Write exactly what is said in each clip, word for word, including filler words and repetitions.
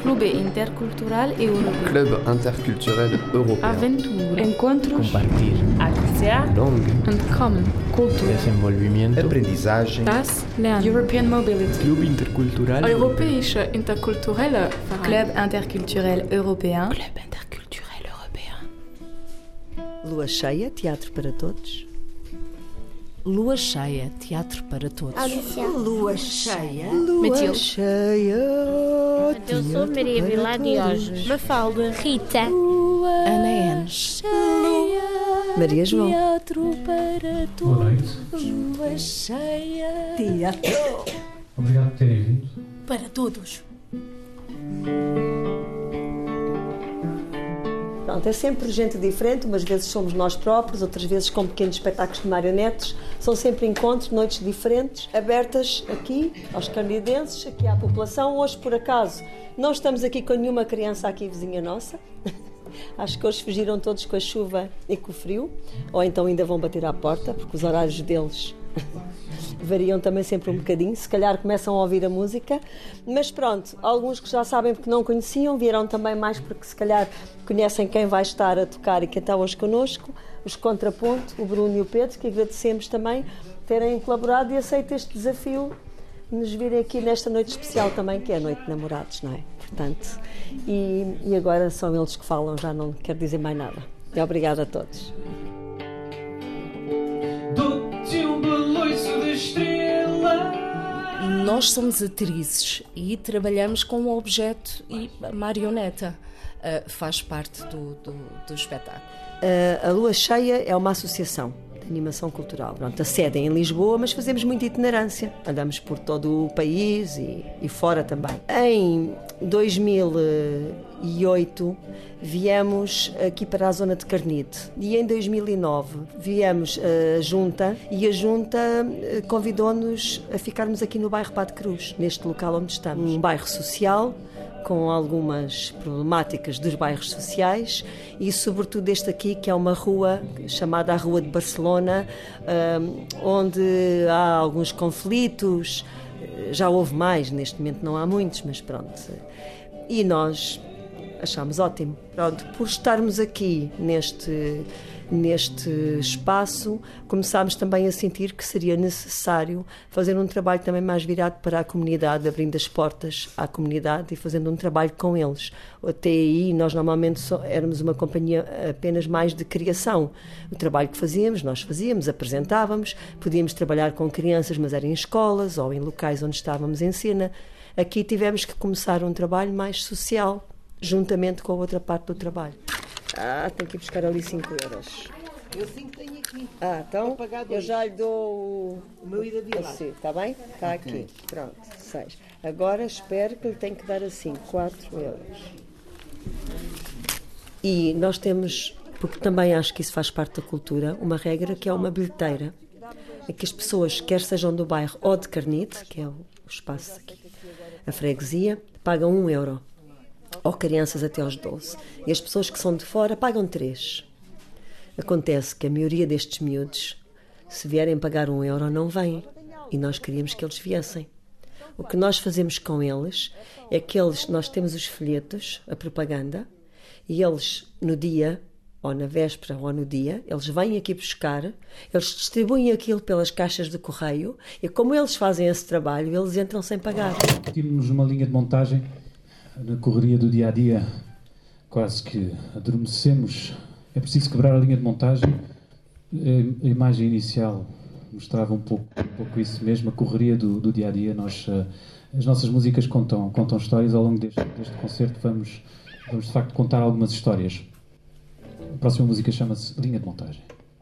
Clube Intercultural Europeu. Club Interculturel Europeu. Aventura. Encontros. Compartir. Acția. Langue. Entkommen. Cultura. Desenvolvimento. Aprendizagem. Das Lernen. European Mobility. Club Intercultural. Europäische Interkulturelle Verein. Club Interculturel Européen. Club Interculturel Européen. Lua cheia, teatro para todos. Lua cheia, teatro para todos. Lua cheia. Lua Matilde. Cheia. Eu sou Maria Vila Diógenes. Mafalda. Rita. Ana Enes. Maria João. Teatro para todos. Boa noite. Lua cheia. Teatro. Obrigado por terem vindo. Para todos. Pronto, é sempre gente diferente, umas vezes somos nós próprios, outras vezes com pequenos espetáculos de marionetes. São sempre encontros, noites diferentes, abertas aqui aos canadenses, aqui à população. Hoje, por acaso, não estamos aqui com nenhuma criança aqui vizinha nossa. Acho que hoje fugiram todos com a chuva e com o frio, ou então ainda vão bater à porta, porque os horários deles variam também sempre um bocadinho, se calhar começam a ouvir a música, mas pronto, alguns que já sabem porque não conheciam, vieram também mais porque se calhar conhecem quem vai estar a tocar e quem está hoje connosco, os Contraponto, o Bruno e o Pedro, que agradecemos também terem colaborado e aceito este desafio de nos virem aqui nesta noite especial também, que é a Noite de Namorados, não é? Portanto, e, e agora são eles que falam, já não quero dizer mais nada. E obrigada a todos. Dou-te um baloiço de estrela. Nós somos atrizes e trabalhamos com o objeto e a marioneta. Uh, faz parte do, do, do espetáculo. Uh, a Lua Cheia é uma associação de animação cultural. Pronto, a sede é em Lisboa, mas fazemos muita itinerância. Andamos por todo o país e, e fora também. Em dois mil e oito viemos aqui para a zona de Carnide e em dois mil e nove viemos a Junta e a Junta convidou-nos a ficarmos aqui no bairro Padre Cruz, neste local onde estamos. Um bairro social, com algumas problemáticas dos bairros sociais e sobretudo este aqui, que é uma rua chamada a Rua de Barcelona, onde há alguns conflitos, já houve mais, neste momento não há muitos, mas pronto. E nós achámos ótimo. Pronto, por estarmos aqui neste, neste espaço, começámos também a sentir que seria necessário fazer um trabalho também mais virado para a comunidade, abrindo as portas à comunidade e fazendo um trabalho com eles. Até aí, nós normalmente só éramos uma companhia apenas mais de criação. O trabalho que fazíamos, nós fazíamos, apresentávamos, podíamos trabalhar com crianças, mas era em escolas ou em locais onde estávamos em cena. Aqui tivemos que começar um trabalho mais social, juntamente com a outra parte do trabalho. Ah, tenho que ir buscar ali cinco euros. Eu cinco tenho aqui. Ah, então eu já lhe dou o, O meu ida de lá. está bem? Está Ok. aqui. Pronto, seis. Agora espero que lhe tenho que dar assim, quatro euros. E nós temos, porque também acho que isso faz parte da cultura, uma regra que é uma bilheteira. É que as pessoas, quer sejam do bairro ou de Carnide, que é o espaço aqui, a freguesia, pagam um euro. Ou crianças até aos doze. E as pessoas que são de fora pagam três. Acontece que a maioria destes miúdos, se vierem pagar um euro, não vêm. E nós queríamos que eles viessem. O que nós fazemos com eles é que eles, nós temos os folhetos, a propaganda, e eles, no dia, ou na véspera, ou no dia, eles vêm aqui buscar, eles distribuem aquilo pelas caixas de correio, e como eles fazem esse trabalho, eles entram sem pagar. Tínhamos uma linha de montagem. Na correria do dia-a-dia, quase que adormecemos. É preciso quebrar a linha de montagem. A imagem inicial mostrava um pouco, um pouco isso mesmo, a correria do, do dia-a-dia. Nós, as nossas músicas contam, contam histórias. Ao longo deste, deste concerto vamos, vamos, de facto, contar algumas histórias. A próxima música chama-se Linha de Montagem.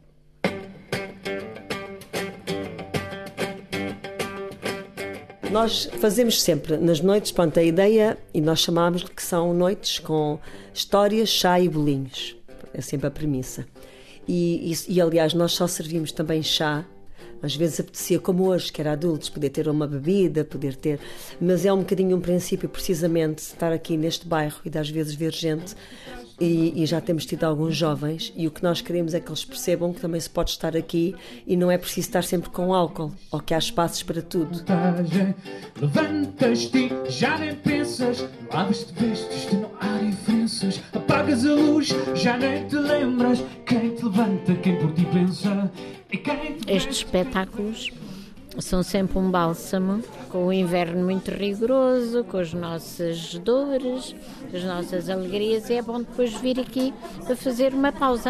Nós fazemos sempre nas noites, pronto, a ideia, e nós chamámos-lhe que são noites com histórias, chá e bolinhos. É sempre a premissa. E, e, e aliás, nós só servimos também chá. Às vezes apetecia, como hoje, que era adultos, poder ter uma bebida, poder ter... Mas é um bocadinho um princípio, precisamente, estar aqui neste bairro e de às vezes ver gente e, e já temos tido alguns jovens, e o que nós queremos é que eles percebam que também se pode estar aqui e não é preciso estar sempre com álcool, ou que há espaços para tudo. Levantas-te, já nem pensas, lavas-te, vestes-te, não há diferenças, apagas a luz, já nem te lembras, quem te levanta, quem por ti pensa e quem te... Estes espetáculos são sempre um bálsamo, com o inverno muito rigoroso, com as nossas dores, as nossas alegrias, e é bom depois vir aqui para fazer uma pausa.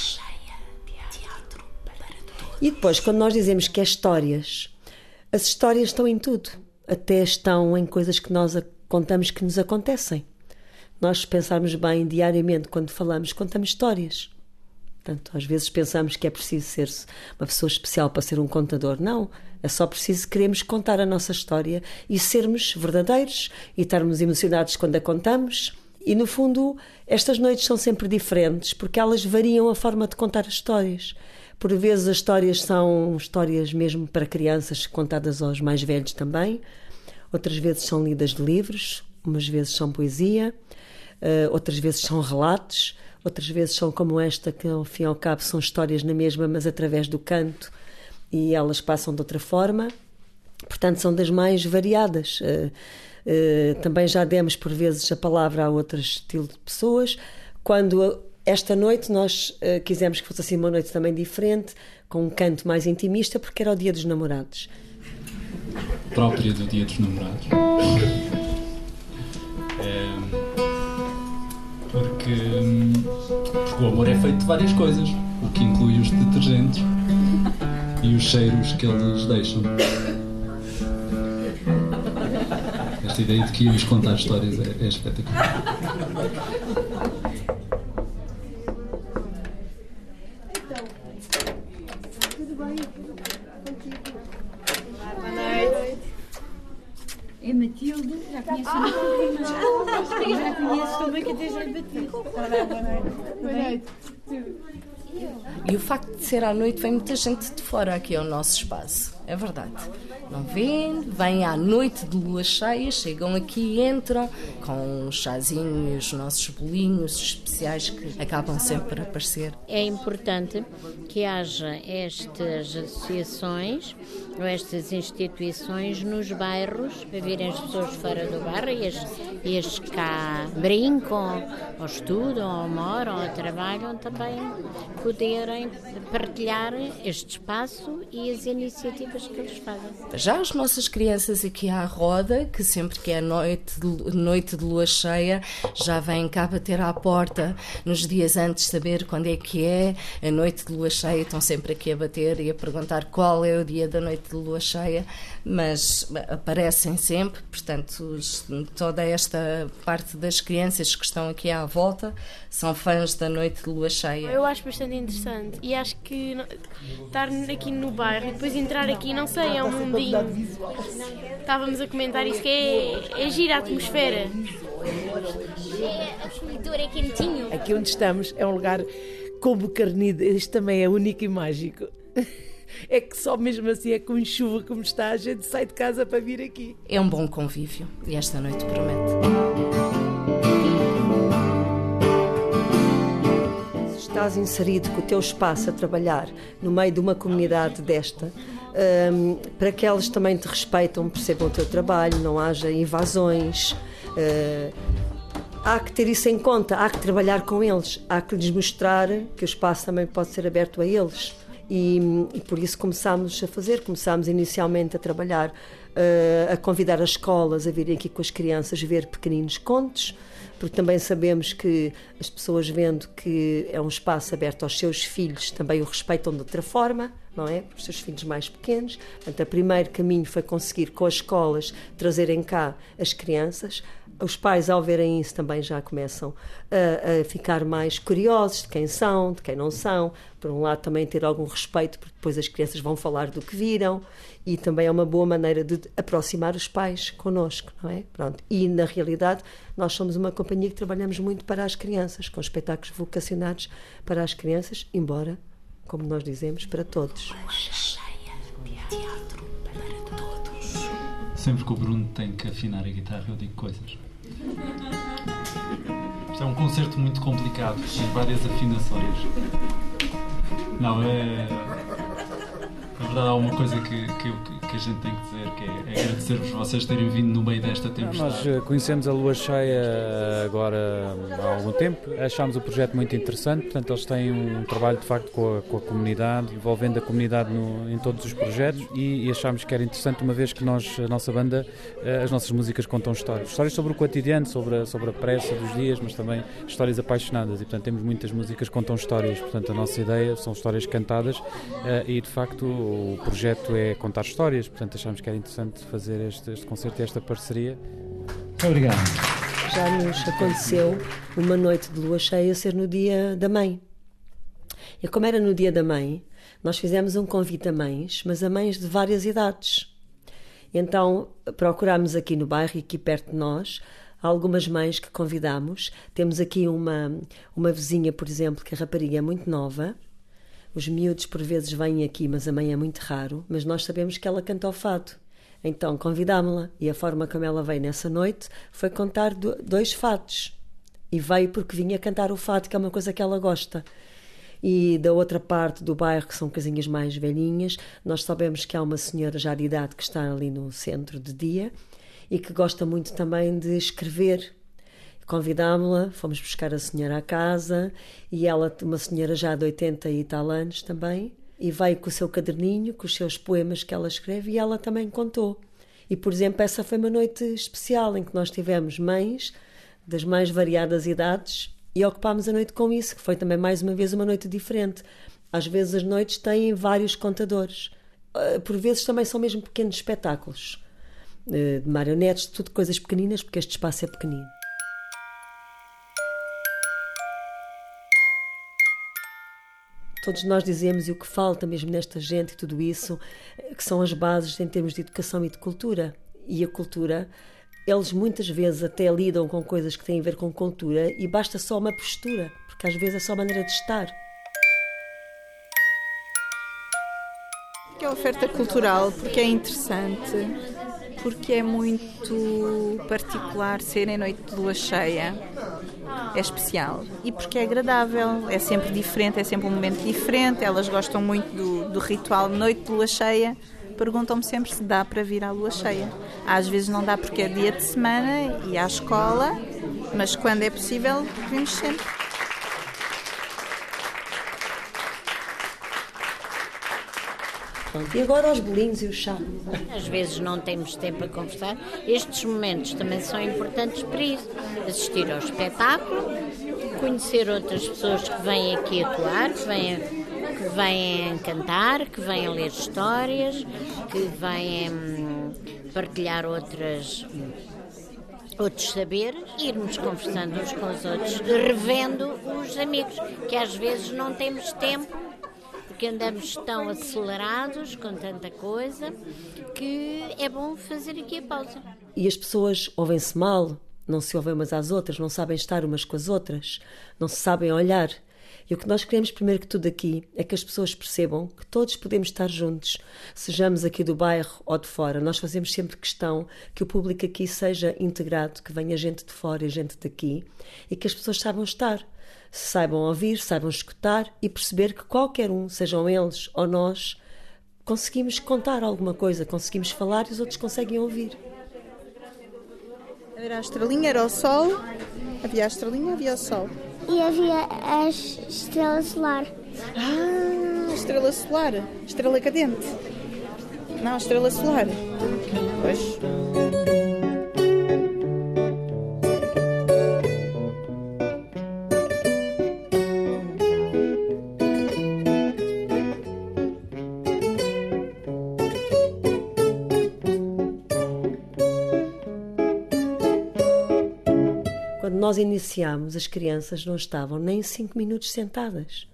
E depois, quando nós dizemos que é histórias, as histórias estão em tudo, até estão em coisas que nós contamos que nos acontecem. Nós, se pensarmos bem, diariamente, quando falamos, contamos histórias. Portanto, às vezes pensamos que é preciso ser uma pessoa especial para ser um contador. Não, é só preciso queremos contar a nossa história e sermos verdadeiros e estarmos emocionados quando a contamos. E, no fundo, estas noites são sempre diferentes porque elas variam a forma de contar as histórias. Por vezes as histórias são histórias mesmo para crianças, contadas aos mais velhos também. Outras vezes são lidas de livros, umas vezes são poesia, outras vezes são relatos. Outras vezes são como esta, que ao fim e ao cabo são histórias na mesma, mas através do canto, e elas passam de outra forma. Portanto, são das mais variadas. Uh, uh, também já demos por vezes a palavra a outro estilo de pessoas. Quando esta noite nós uh, quisemos que fosse assim uma noite também diferente, com um canto mais intimista, porque era o Dia dos Namorados. Própria do Dia dos Namorados. é... Porque, porque o amor é feito de várias coisas, o que inclui os detergentes e os cheiros que eles deixam. Esta ideia de que íamos contar histórias é, é espetacular. Então, tudo bem? Boa noite. É Matilde, já conheço ah, o meu já conheço também que até já lhe bati. Boa noite. E o facto de ser à noite vem muita gente de fora aqui ao nosso espaço, é verdade. Não vêm, vêm à noite de lua cheia, chegam aqui e entram com um chazinho e os nossos bolinhos especiais que acabam sempre por aparecer. É importante que haja estas associações ou estas instituições nos bairros, para virem as pessoas fora do bairro e as, e as que cá brincam, ou estudam, ou moram, ou trabalham, também poderem partilhar este espaço e as iniciativas que eles fazem. Já as nossas crianças aqui à roda, que sempre que é noite de, noite de lua cheia, já vêm cá bater à porta nos dias antes, saber quando é que é a noite de lua cheia, estão sempre aqui a bater e a perguntar qual é o dia da noite de lua cheia, mas aparecem sempre, portanto, toda esta parte das crianças que estão aqui à volta são fãs da noite de lua cheia. Eu acho bastante interessante e acho que estar aqui no bairro e depois entrar aqui, não sei, é um mundinho. Estávamos a comentar isso, que é, é gira a atmosfera. É acolhedor, é quentinho. Aqui onde estamos é um lugar como carnido, isto também é único e mágico. É que só mesmo assim, é com chuva como está, a gente sai de casa para vir aqui. É um bom convívio e esta noite promete. Se estás inserido com o teu espaço a trabalhar no meio de uma comunidade desta, um, para que eles também te respeitam, percebam o teu trabalho, não haja invasões, uh, há que ter isso em conta, há que trabalhar com eles, há que lhes mostrar que o espaço também pode ser aberto a eles. E, e por isso começámos a fazer, começámos inicialmente a trabalhar, uh, a convidar as escolas a virem aqui com as crianças ver pequeninos contos, porque também sabemos que as pessoas, vendo que é um espaço aberto aos seus filhos, também o respeitam de outra forma, não é? Os seus filhos mais pequenos. Portanto, o primeiro caminho foi conseguir com as escolas trazerem cá as crianças. Os pais, ao verem isso, também já começam a, a ficar mais curiosos de quem são, de quem não são. Por um lado, também ter algum respeito, porque depois as crianças vão falar do que viram, e também é uma boa maneira de aproximar os pais connosco, não é? Pronto. E, na realidade, nós somos uma companhia que trabalhamos muito para as crianças, com espetáculos vocacionados para as crianças, embora, como nós dizemos, para todos. Teatro para todos. Sempre que o Bruno tem que afinar a guitarra, eu digo coisas. Isto é um concerto muito complicado, tem várias afinações. Não, é... Na verdade há uma coisa que, que, que a gente tem que dizer, que é, é agradecer-vos vocês terem vindo no meio desta tempestade. Nós conhecemos a Lua Cheia agora há algum tempo, achámos o projeto muito interessante, portanto eles têm um trabalho de facto com a, com a comunidade, envolvendo a comunidade no, em todos os projetos e, e achámos que era interessante uma vez que nós, a nossa banda, as nossas músicas contam histórias. Histórias sobre o cotidiano, sobre a, sobre a pressa dos dias, mas também histórias apaixonadas e portanto temos muitas músicas que contam histórias, portanto a nossa ideia são histórias cantadas e de facto o projeto é contar histórias, portanto achámos que era interessante fazer este, este concerto e esta parceria. Muito obrigado. Já nos aconteceu uma noite de lua cheia ser no dia da mãe. E como era no dia da mãe, nós fizemos um convite a mães, mas a mães de várias idades. Então procurámos aqui no bairro, aqui perto de nós, algumas mães que convidamos. Temos aqui uma, uma vizinha, por exemplo, que a rapariga é muito nova. Os miúdos por vezes vêm aqui, mas a mãe é muito raro, mas nós sabemos que ela canta o fado. Então convidámo-la e a forma como ela veio nessa noite foi contar do, dois fados. E veio porque vinha cantar o fado, que é uma coisa que ela gosta. E da outra parte do bairro, que são casinhas mais velhinhas, nós sabemos que há uma senhora já de idade que está ali no centro de dia e que gosta muito também de escrever. Convidámo-la, fomos buscar a senhora à casa e ela, uma senhora já de oitenta e tal anos também, e veio com o seu caderninho, com os seus poemas que ela escreve e ela também contou. E, por exemplo, essa foi uma noite especial em que nós tivemos mães das mais variadas idades e ocupámos a noite com isso, que foi também mais uma vez uma noite diferente. Às vezes as noites têm vários contadores, por vezes também são mesmo pequenos espetáculos, de marionetes, tudo coisas pequeninas, porque este espaço é pequenino. Todos nós dizemos, e o que falta mesmo nesta gente e tudo isso, que são as bases em termos de educação e de cultura. E a cultura, eles muitas vezes até lidam com coisas que têm a ver com cultura e basta só uma postura, porque às vezes é só maneira de estar. É a oferta cultural, porque é interessante, porque é muito particular ser em noite de lua cheia. É especial e porque é agradável, é sempre diferente, é sempre um momento diferente. Elas gostam muito do, do ritual de noite de lua cheia, perguntam-me sempre se dá para vir à lua cheia. Às vezes não dá porque é dia de semana e à escola, mas quando é possível vimos sempre. E agora os bolinhos e o chá. Às vezes não temos tempo a conversar. Estes momentos também são importantes para isso. Assistir ao espetáculo, conhecer outras pessoas que vêm aqui atuar, que vêm, que vêm cantar, que vêm ler histórias, que vêm hum, partilhar outras, outros saberes, irmos conversando uns com os outros, revendo os amigos, que às vezes não temos tempo, porque andamos tão acelerados com tanta coisa que é bom fazer aqui a pausa. E as pessoas ouvem-se mal, não se ouvem umas às outras, não sabem estar umas com as outras, não se sabem olhar. E o que nós queremos primeiro que tudo aqui é que as pessoas percebam que todos podemos estar juntos, sejamos aqui do bairro ou de fora. Nós fazemos sempre questão que o público aqui seja integrado, que venha gente de fora e gente daqui e que as pessoas saibam estar. Saibam ouvir, saibam escutar e perceber que qualquer um, sejam eles ou nós, conseguimos contar alguma coisa, conseguimos falar e os outros conseguem ouvir. Era a estrelinha, era o sol, havia a estrelinha, havia o sol. E havia a estrela solar. Ah, a estrela solar, estrela cadente. Não, a estrela solar. Pois. Quando nós iniciámos, as crianças não estavam nem cinco minutos sentadas.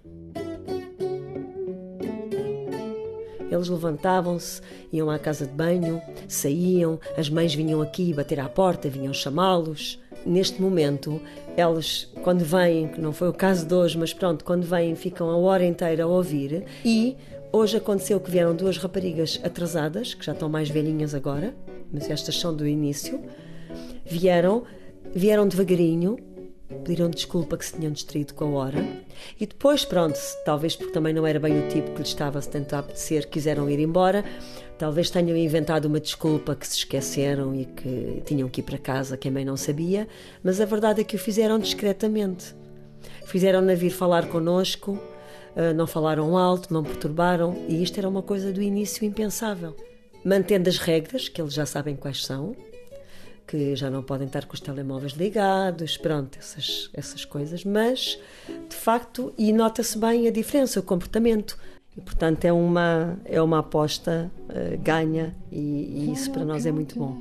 Eles levantavam-se, iam à casa de banho, saíam, as mães vinham aqui bater à porta, vinham chamá-los. Neste momento, elas, quando vêm, que não foi o caso de hoje, mas pronto, quando vêm, ficam a hora inteira a ouvir. E hoje aconteceu que vieram duas raparigas atrasadas, que já estão mais velhinhas agora, mas estas são do início, vieram vieram devagarinho, pediram desculpa que se tinham distraído com a hora e depois, pronto, talvez porque também não era bem o tipo que lhes estava a tentar apetecer, quiseram ir embora, talvez tenham inventado uma desculpa que se esqueceram e que tinham que ir para casa, quem bem não sabia, mas a verdade é que o fizeram discretamente. Fizeram-na vir falar connosco, não falaram alto, não perturbaram, e isto era uma coisa do início impensável. Mantendo as regras, que eles já sabem quais são, que já não podem estar com os telemóveis ligados, pronto, essas, essas coisas, mas, de facto, e nota-se bem a diferença, o comportamento. E, portanto, é uma, é uma aposta uh, ganha e, e isso para nós é muito bom.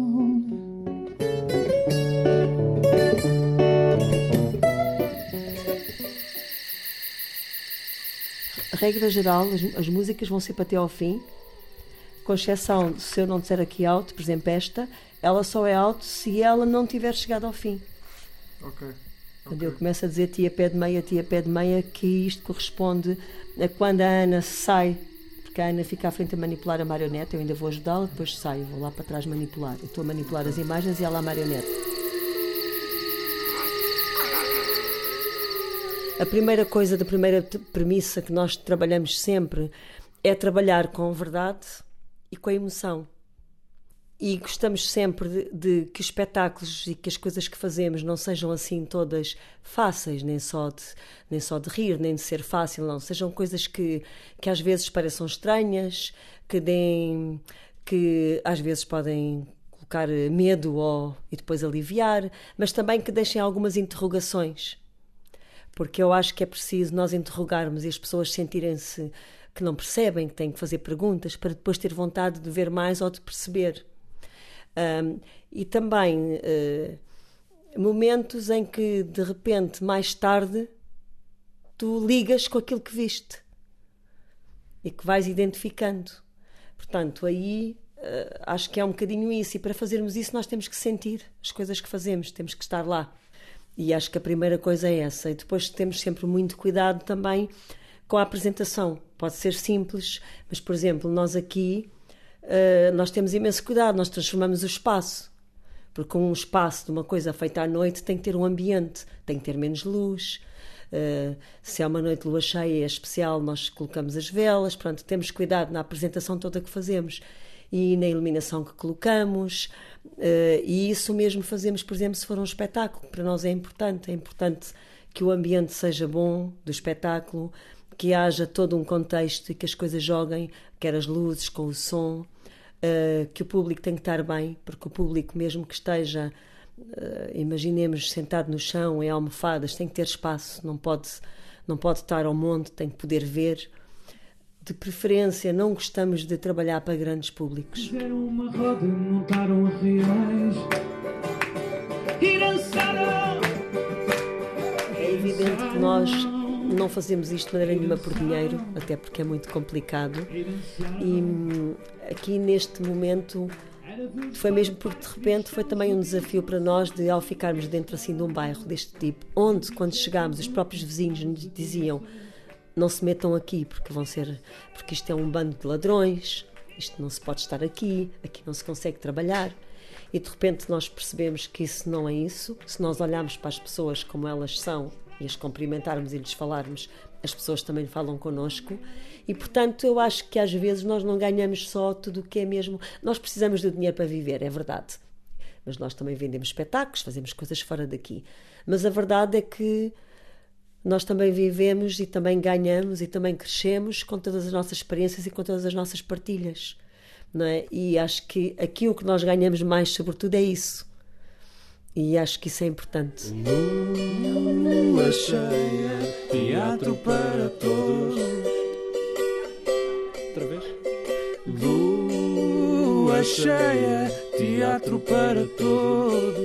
Regra geral, as, as músicas vão sempre até ao fim, com exceção de se eu não disser aqui alto, por exemplo esta, ela só é alto se ela não tiver chegado ao fim. Ok. Quando okay. eu começo a dizer tia pé de meia, tia pé de meia, que isto corresponde a quando a Ana sai, porque a Ana fica à frente a manipular a marionete, eu ainda vou ajudá-la, depois saio, vou lá para trás manipular. Eu estou a manipular as imagens e ela a marionete. A primeira coisa, da primeira premissa que nós trabalhamos sempre é trabalhar com verdade e com a emoção. E gostamos sempre de, de que os espetáculos e que as coisas que fazemos não sejam assim todas fáceis, nem só de, nem só de rir, nem de ser fácil, não. Sejam coisas que, que às vezes pareçam estranhas, que, deem, que às vezes podem colocar medo ou, e depois aliviar, mas também que deixem algumas interrogações. Porque eu acho que é preciso nós interrogarmos e as pessoas sentirem-se que não percebem, que têm que fazer perguntas, para depois ter vontade de ver mais ou de perceber. Um, e também uh, momentos em que de repente mais tarde tu ligas com aquilo que viste e que vais identificando. Portanto, aí uh, acho que é um bocadinho isso, e para fazermos isso nós temos que sentir as coisas que fazemos, temos que estar lá, e acho que a primeira coisa é essa. E depois temos sempre muito cuidado também com a apresentação. Pode ser simples, mas por exemplo, nós aqui Uh, nós temos imenso cuidado, nós transformamos o espaço, porque um espaço de uma coisa feita à noite tem que ter um ambiente, tem que ter menos luz, uh, se é uma noite de lua cheia é especial, nós colocamos as velas, pronto, temos cuidado na apresentação toda que fazemos e na iluminação que colocamos, uh, e isso mesmo fazemos, por exemplo, se for um espetáculo, para nós é importante, é importante que o ambiente seja bom do espetáculo, que haja todo um contexto e que as coisas joguem, quer as luzes com o som, uh, que o público tem que estar bem, porque o público, mesmo que esteja, uh, imaginemos, sentado no chão, em almofadas, tem que ter espaço, não pode, não pode estar ao monte, tem que poder ver. De preferência, não gostamos de trabalhar para grandes públicos. Fizeram uma roda, montaram reais e dançaram. É evidente que nós não fazemos isto de maneira nenhuma por dinheiro, até porque é muito complicado, e aqui neste momento foi mesmo porque de repente foi também um desafio para nós, de ao ficarmos dentro assim de um bairro deste tipo, onde quando chegámos os próprios vizinhos nos diziam não se metam aqui porque vão ser, porque isto é um bando de ladrões, isto não se pode estar aqui, aqui não se consegue trabalhar. E de repente nós percebemos que isso não é isso. Se nós olharmos para as pessoas como elas são e as cumprimentarmos e lhes falarmos, as pessoas também falam connosco, e portanto eu acho que às vezes nós não ganhamos só tudo o que é mesmo. Nós precisamos do dinheiro para viver, é verdade, mas nós também vendemos espetáculos, fazemos coisas fora daqui, mas a verdade é que nós também vivemos e também ganhamos e também crescemos com todas as nossas experiências e com todas as nossas partilhas, não é? E acho que aqui o que nós ganhamos mais sobretudo é isso. E acho que isso é importante. Lua cheia, teatro para todos. Outra vez. Lua cheia, teatro para todos.